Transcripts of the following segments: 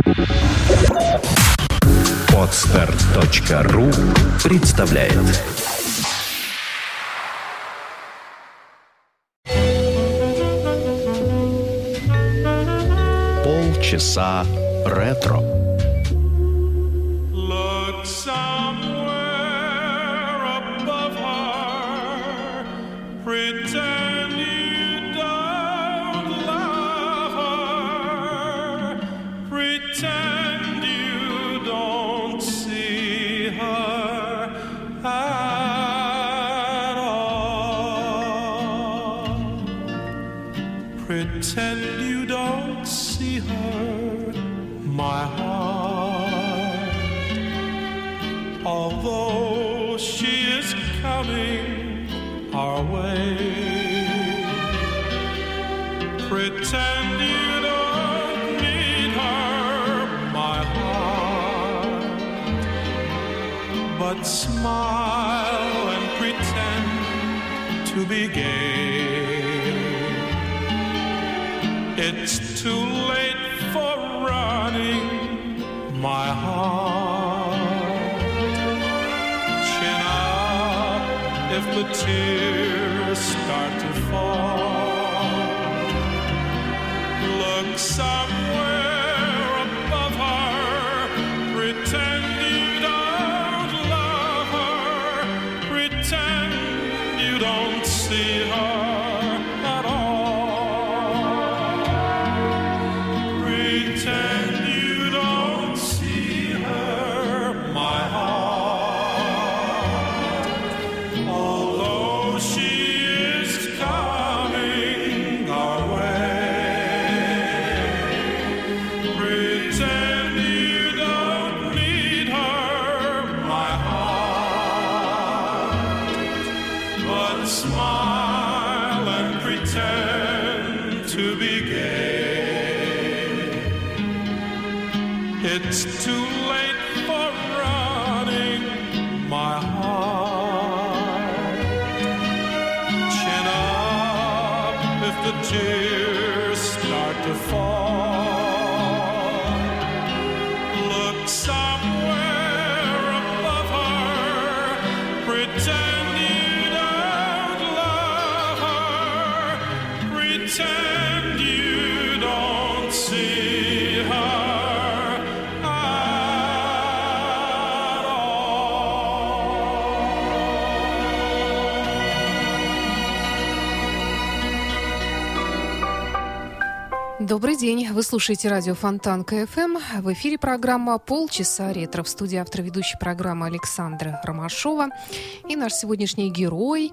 Podster.ru представляет. Полчаса ретро. Pretend you don't see her, my heart. Although she is coming our way, pretend you don't need her, my heart. But smile and pretend to be gay. It's too late for running, my heart. Chin up if the tears start to fall. Look somewhere above her. Pretend you don't love her. Pretend you don't see her. It's too late for running, my heart. Chin up if the tears start to fall. Look somewhere above her. Pretend you don't love her. Pretend you don't see her. Добрый день. Вы слушаете радио Фонтан КФМ. В эфире программа «Полчаса ретро». В студии автор ведущей программы Александра Ромашова. И наш сегодняшний герой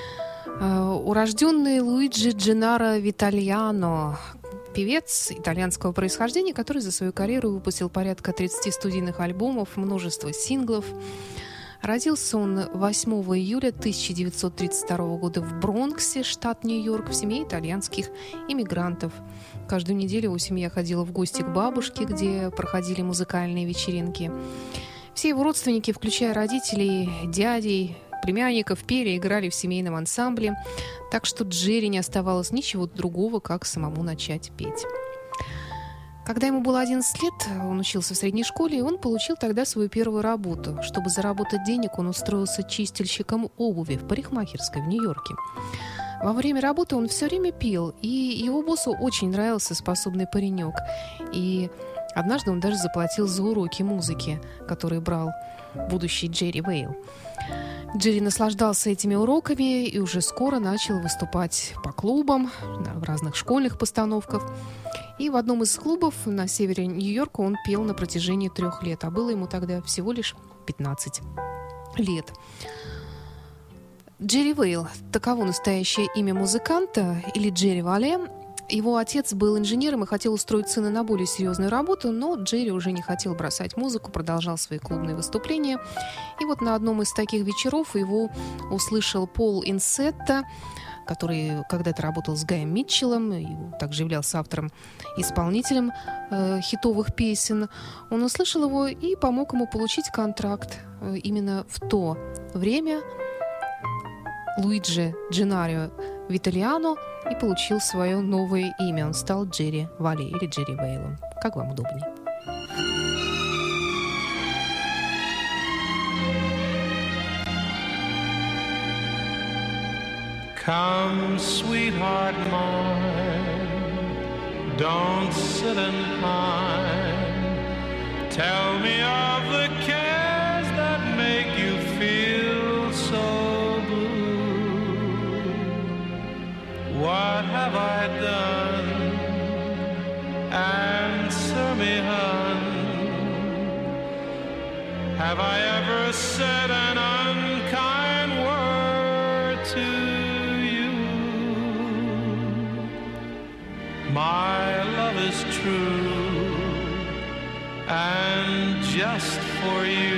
урожденный Луиджи Дженнаро Витальяно, певец итальянского происхождения, который за свою карьеру выпустил порядка 30 студийных альбомов, множество синглов. Родился он 8 июля 1932 года в Бронксе, штат Нью-Йорк, в семье итальянских иммигрантов. Каждую неделю его семья ходила в гости к бабушке, где проходили музыкальные вечеринки. Все его родственники, включая родителей, дядей, племянников, пели и играли в семейном ансамбле, так что Джерри не оставалось ничего другого, как самому начать петь. Когда ему было 11 лет, он учился в средней школе, и он получил тогда свою первую работу. Чтобы заработать денег, он устроился чистильщиком обуви в парикмахерской в Нью-Йорке. Во время работы он все время пил, и его боссу очень нравился способный паренек. И однажды он даже заплатил за уроки музыки, которые брал будущий Джерри Вейл. Джерри наслаждался этими уроками и уже скоро начал выступать по клубам, в разных школьных постановках. И в одном из клубов на севере Нью-Йорка он пел на протяжении 3 лет, а было ему тогда всего лишь 15 лет. Джерри Вейл – таково настоящее имя музыканта, или Джерри Вале. Его отец был инженером и хотел устроить сына на более серьезную работу, но Джерри уже не хотел бросать музыку, продолжал свои клубные выступления. И вот на одном из таких вечеров его услышал Пол Инсетто, который когда-то работал с Гаем Митчеллом, и также являлся автором-исполнителем хитовых песен. Он услышал его и помог ему получить контракт. Именно в то время Луиджи Дженнаро Витальяно и получил свое новое имя. Он стал Джерри Вале или Джерри Вейлом. Как вам удобнее? Come, sweetheart mine, don't sit and pine. Tell me of the cares that make you feel so blue. What have I done? Answer me, hun. Have I ever said an unkind word to you? My love is true, and just for you,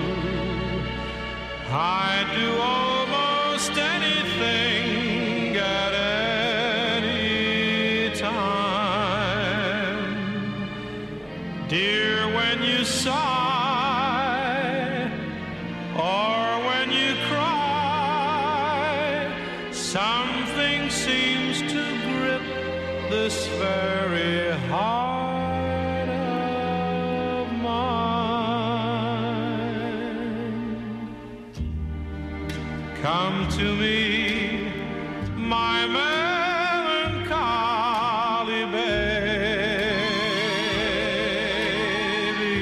I'd do almost anything at any time. Dear, when you sigh, or when you cry, something seems to grip this very heart of mine. Come to me, my melancholy baby.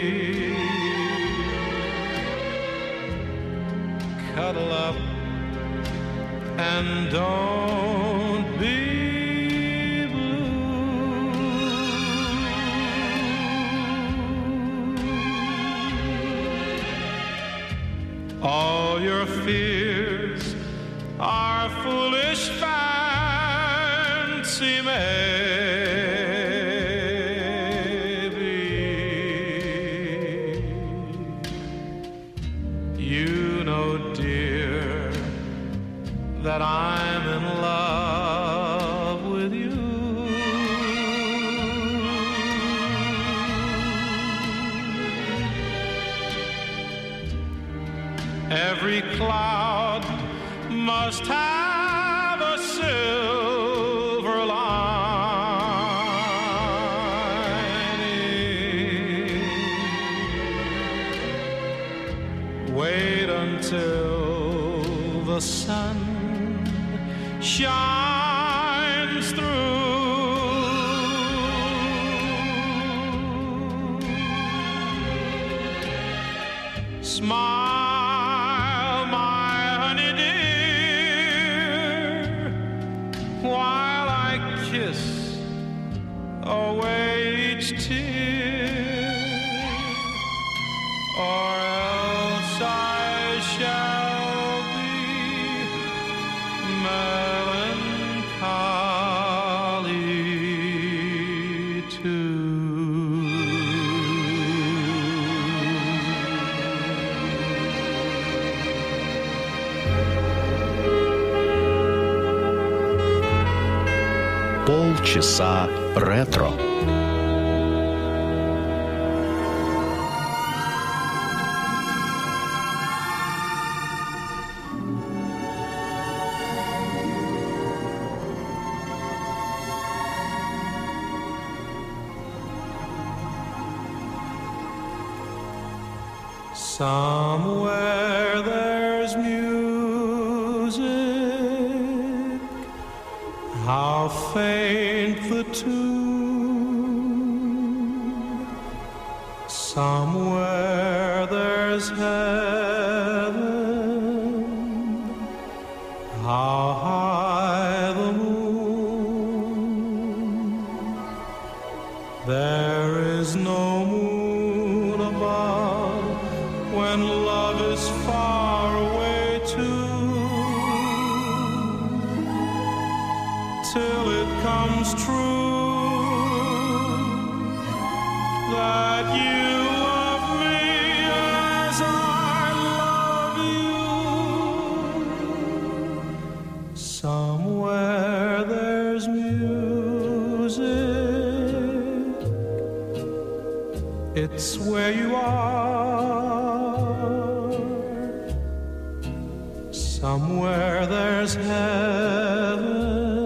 Cuddle up and don't be all your fears are foolish fancy, maybe. You know, dear, that I'm in love with you. Every cloud must have a silver lining. Wait until the sun shines through. Smile, my honey dear, while I kiss away each tear, or else I shall be melancholy too. Полчаса ретро. Somewhere there's music, how faint the tune. Somewhere there's heaven, how high the moon. There is no moon above when love is far away too, till it comes true that you love me as I love you. Somewhere there's music, it's where you are. Somewhere there's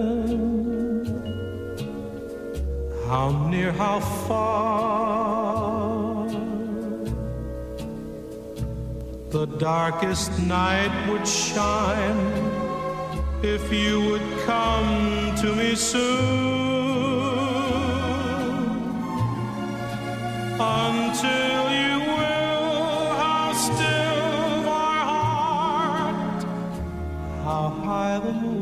heaven, how near, how far. the darkest night would shine if you would come to me soon. Until you will, how still my heart, how high the moon.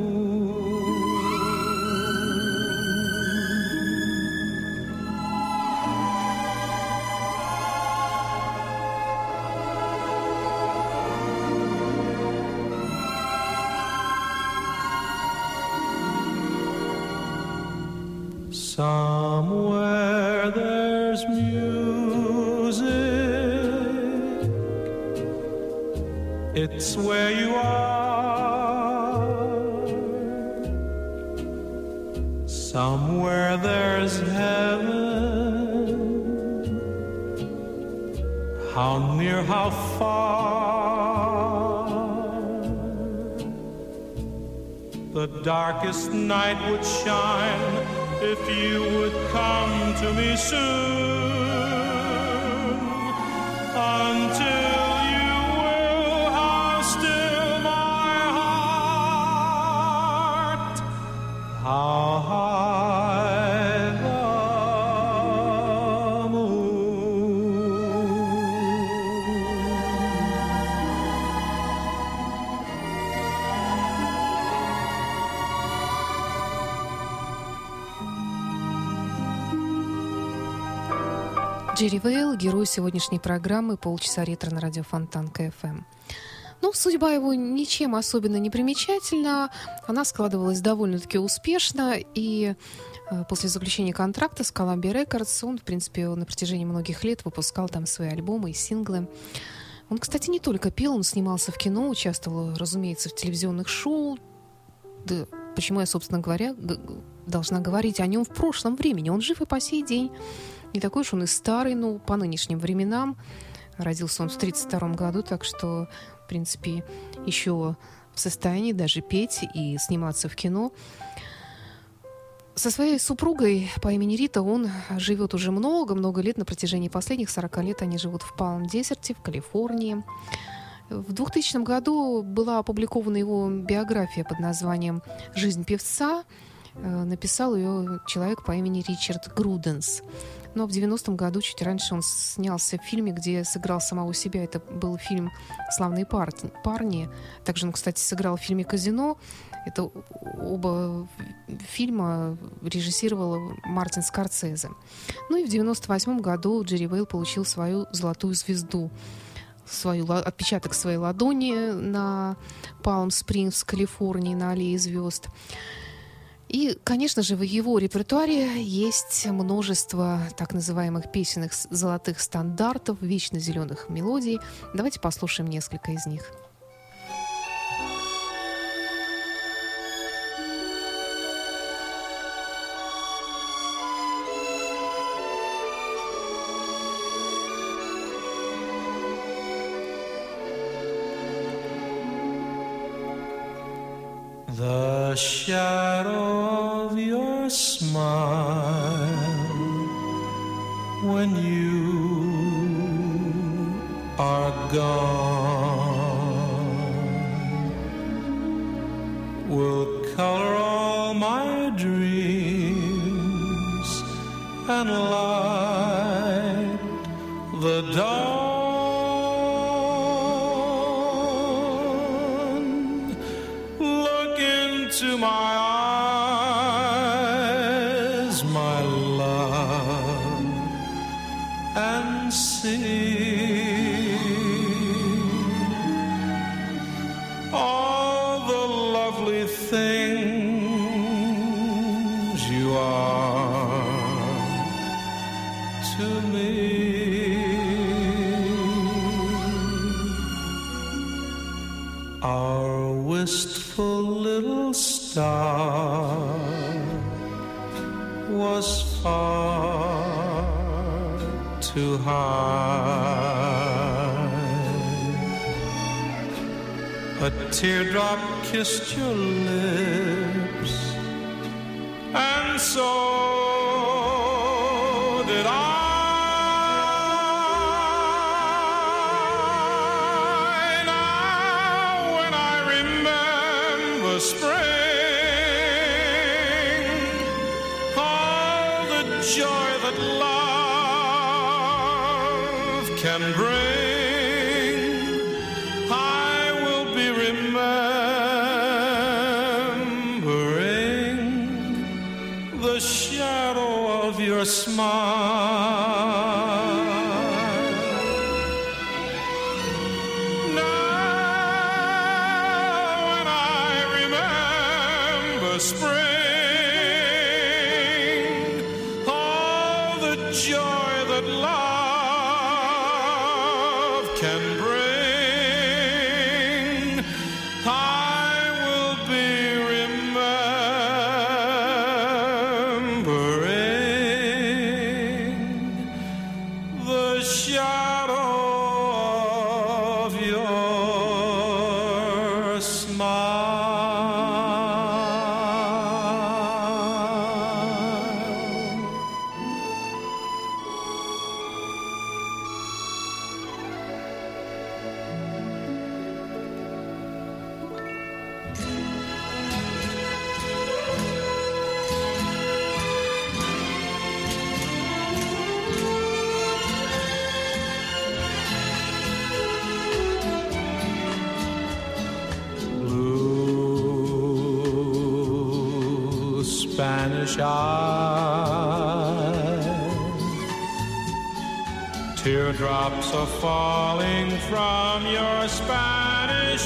Somewhere there's music, it's where you are. Somewhere there's heaven, how near, how far. The darkest night would shine if you would come to me soon. Until you will, how still my heart, how high the moon. Джерри Вейл, герой сегодняшней программы «Полчаса ретро» на радио Фонтан КФМ. Ну, судьба его ничем особенно не примечательна. Она складывалась довольно-таки успешно, и после заключения контракта с Columbia Records он, в принципе, на протяжении многих лет выпускал там свои альбомы и синглы. Он, кстати, не только пел, он снимался в кино, участвовал, разумеется, в телевизионных шоу. Да, почему я, собственно говоря, должна говорить о нем в прошлом времени? Он жив и по сей день. Не такой уж он и старый, но по нынешним временам. Родился он в 1932 году, так что, в принципе, еще в состоянии даже петь и сниматься в кино. Со своей супругой по имени Рита он живет уже много-много лет. На протяжении последних 40 лет они живут в Палм-Дезерте, в Калифорнии. В 2000 году была опубликована его биография под названием «Жизнь певца». Написал ее человек по имени Ричард Груденс. Но в 90-м году, чуть раньше, он снялся в фильме, где сыграл самого себя. Это был фильм «Славные парни». Также он, кстати, сыграл в фильме «Казино». Это оба фильма режиссировал Мартин Скорсезе. Ну и в 98-м году Джерри Вейл получил свою золотую звезду, отпечаток своей ладони на Палм-Спрингс, Калифорнии, на аллее звезд. И, конечно же, в его репертуаре есть множество так называемых песенных золотых стандартов, вечно зеленых мелодий. Давайте послушаем несколько из них. The shadow of your smile when you are gone will color all my dreams and light the dawn. To my eyes, my love, and see all the lovely things you are to me. Our wistful little star was far too high. A teardrop kissed your lips, and so did I. can bring, I will be remembering the shadow of your smile. Now when I remember spring, all the joy that love can bring, I will be remembering the shadow of your smile. Blue Spanish eyes, teardrops are falling from your Spanish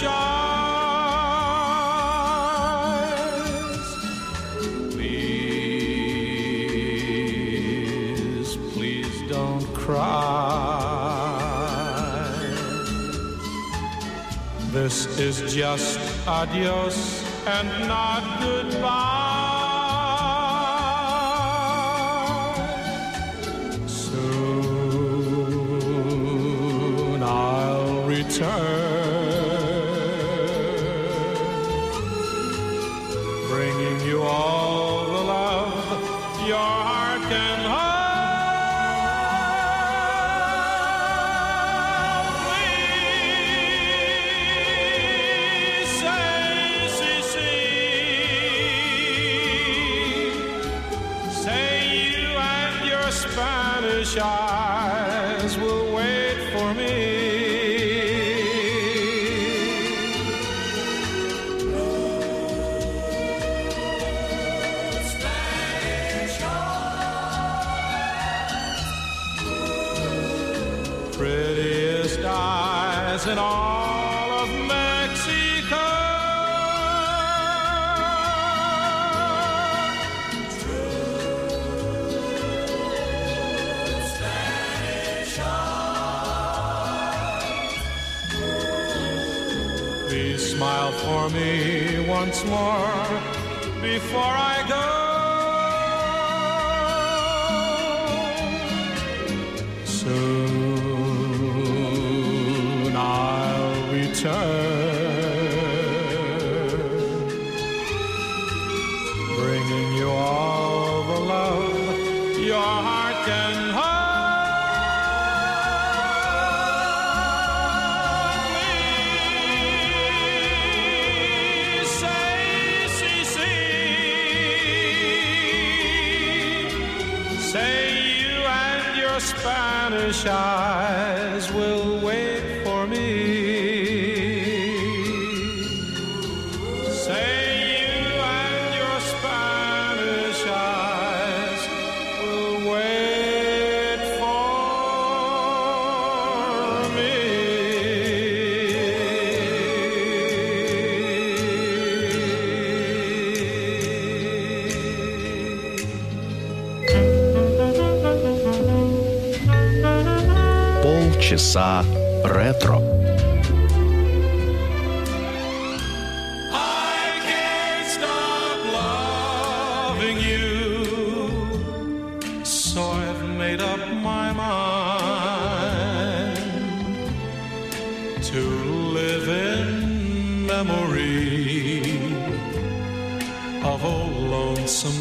eyes. Please, please don't cry. This is just adios and not goodbye. Soon I'll return, bringing you all the love your heart can hold. Please say, see, say you and your Spanish eyes will wait for me. Prettiest eyes in all of Mexico. Please smile for me once more before I go. Soon I'll return, bringing you all the love your heart can hold. Please say, say you and your Spanish eyes will wait for me. Say you and your Spanish eyes will wait for me. Полчаса ретро. I can't stop loving you, so I've made up my mind to live in memory of old lonesome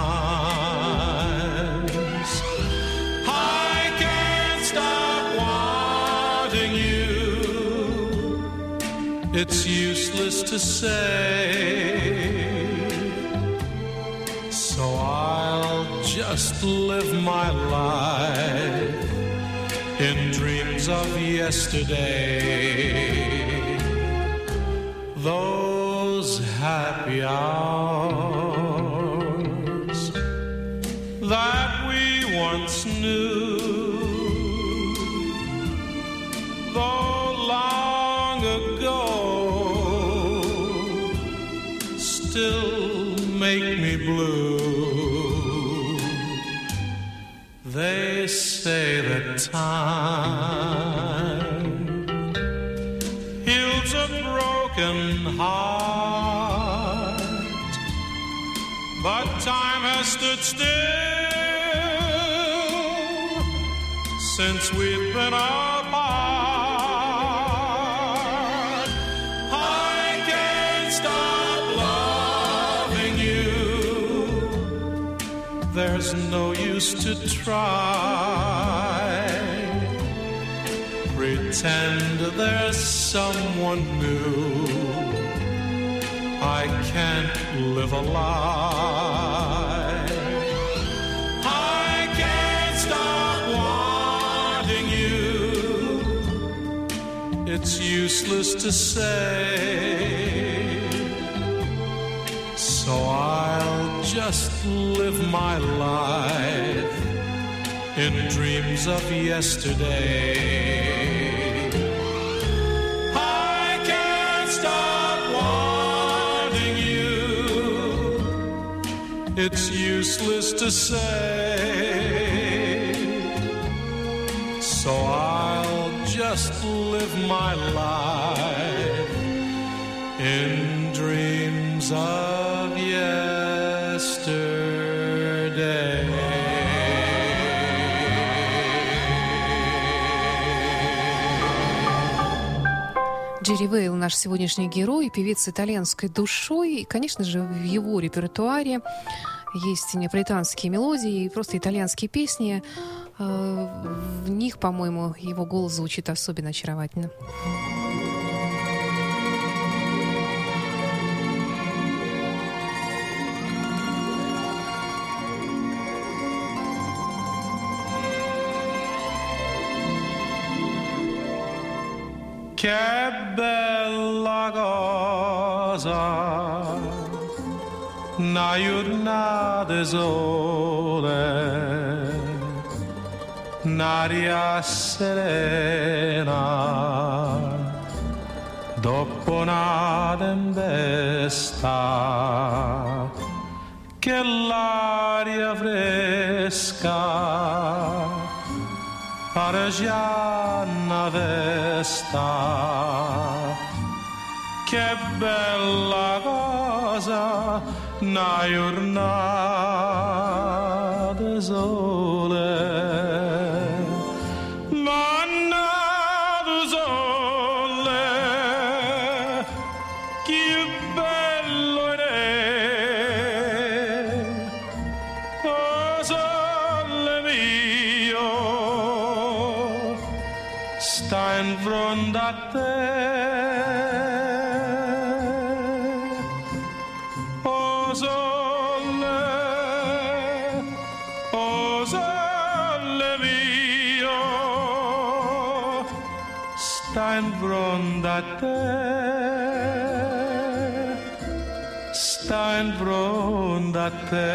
times. I can't stop wanting you. It's useless to say, so I'll just live my life in dreams dreams of yesterday, those happy hours that we once knew, though long ago, still make me blue. They say that time heals a broken heart, but time has stood still since we've been apart. I can't stop loving you. There's no use to try. Pretend there's someone new. I can't live a lie. I can't stop wanting you. It's useless to say, so I'll just live my life in dreams of yesterday. I can't stop wanting you. It's useless to say, so I'll just live my life in dreams of yesterday. Джерри Вейл, наш сегодняшний герой, певец с итальянской душой. И, конечно же, в его репертуаре есть неаполитанские мелодии и просто итальянские песни. В них, по-моему, его голос звучит особенно очаровательно. Che bella cosa, una giornata sole, un'aria serena, dopo una tempesta, che l'aria fresca Aragiana vesta, che bella cosa, una giornata sole, mannato sole, che bello è, oh sole mio, sta in fronte a te, oh sole mio, sta in fronte a te, sta in fronte a te.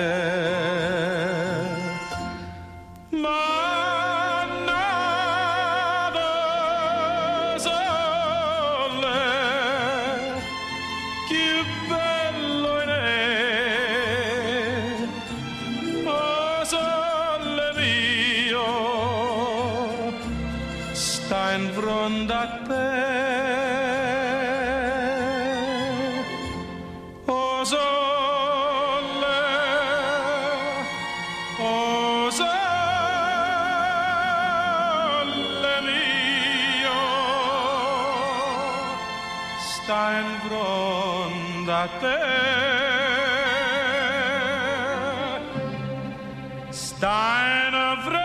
In fronte a te, oh sole mio, sta in fronte a te, sta in fronte.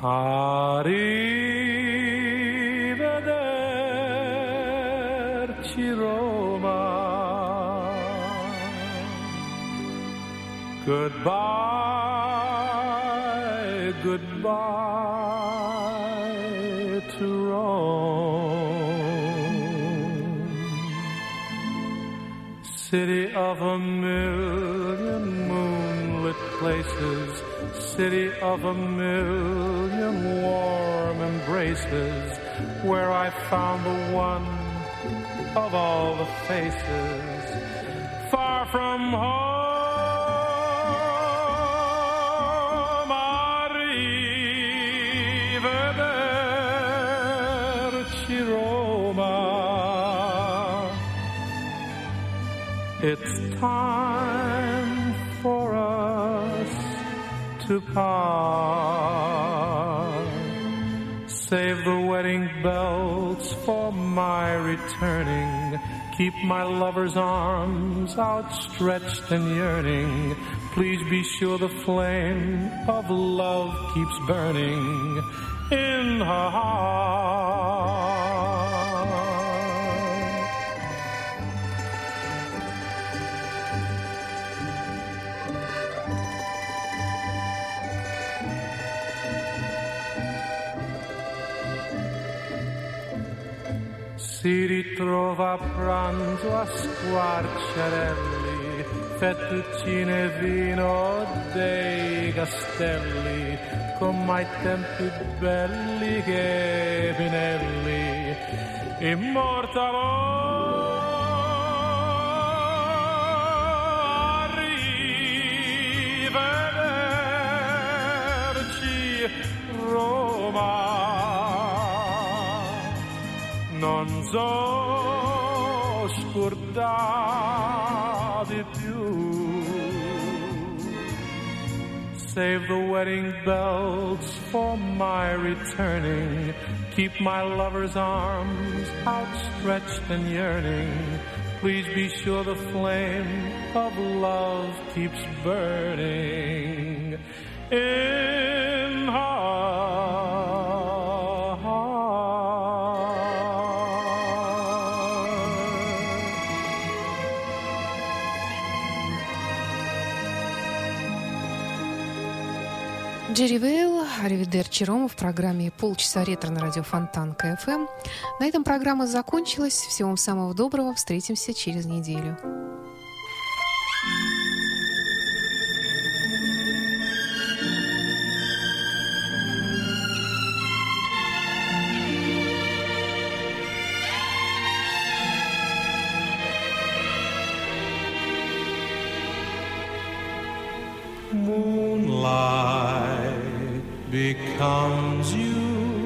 Arrivederci Roma. Goodbye, goodbye to Rome. City of a million moonlit places, city of a million warm embraces, where I found the one of all the faces, far from home. Arrivederci Roma. It's time for us to part. Save the wedding bells for my returning. Keep my lover's arms outstretched and yearning. Please be sure the flame of love keeps burning in her heart. Si ritrova a pranzo a squarciarelli, fettuccine e vino dei castelli, come ai tempi belli che Pinelli immortalò. Arrivederci Roma. Non so scordare più. Save the wedding bells for my returning. Keep my lover's arms outstretched and yearning. Please be sure the flame of love keeps burning in her. Джерри Вейл, «Аривидерчи Рома» в программе «Полчаса ретро» на радио Фонтанка ФМ. На этом программа закончилась. Всего вам самого доброго. Встретимся через неделю. Moonlight becomes you.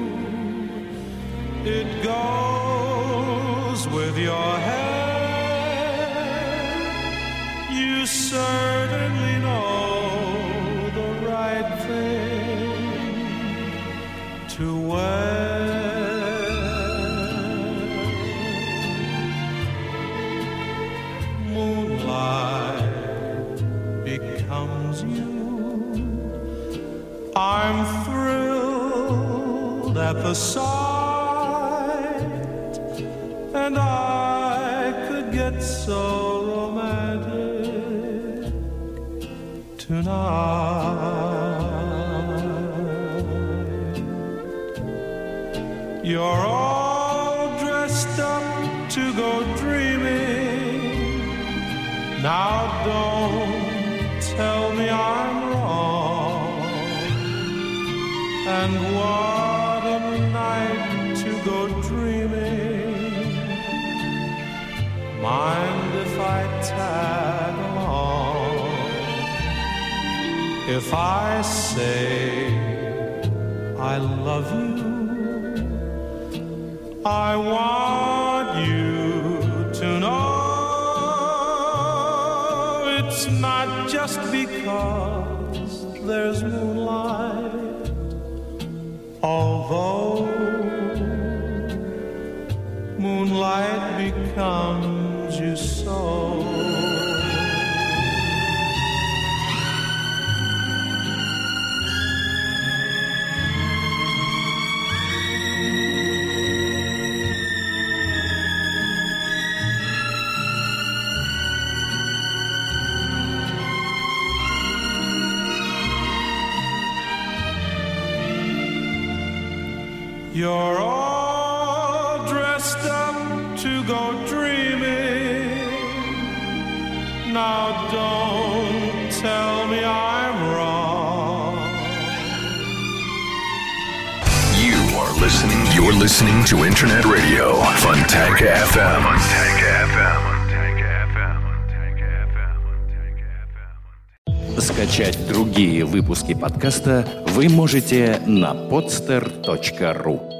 It goes with your hair. You certainly know the right thing to wear. Moonlight becomes you. I'm thrilled at the sight, and I could get so romantic tonight. You're all dressed up to go dreaming. Now don't tell me I'm wrong. And what a night to go dreaming. Mind if I tag along? If I say I love you, I want you to know it's not just because there's moonlight. Although moonlight becomes you so. You're all dressed up to go dreaming. Now don't tell me I'm wrong. You're listening to Internet Radio Fontanka FM. Скачать другие выпуски подкаста вы можете на podster.ru.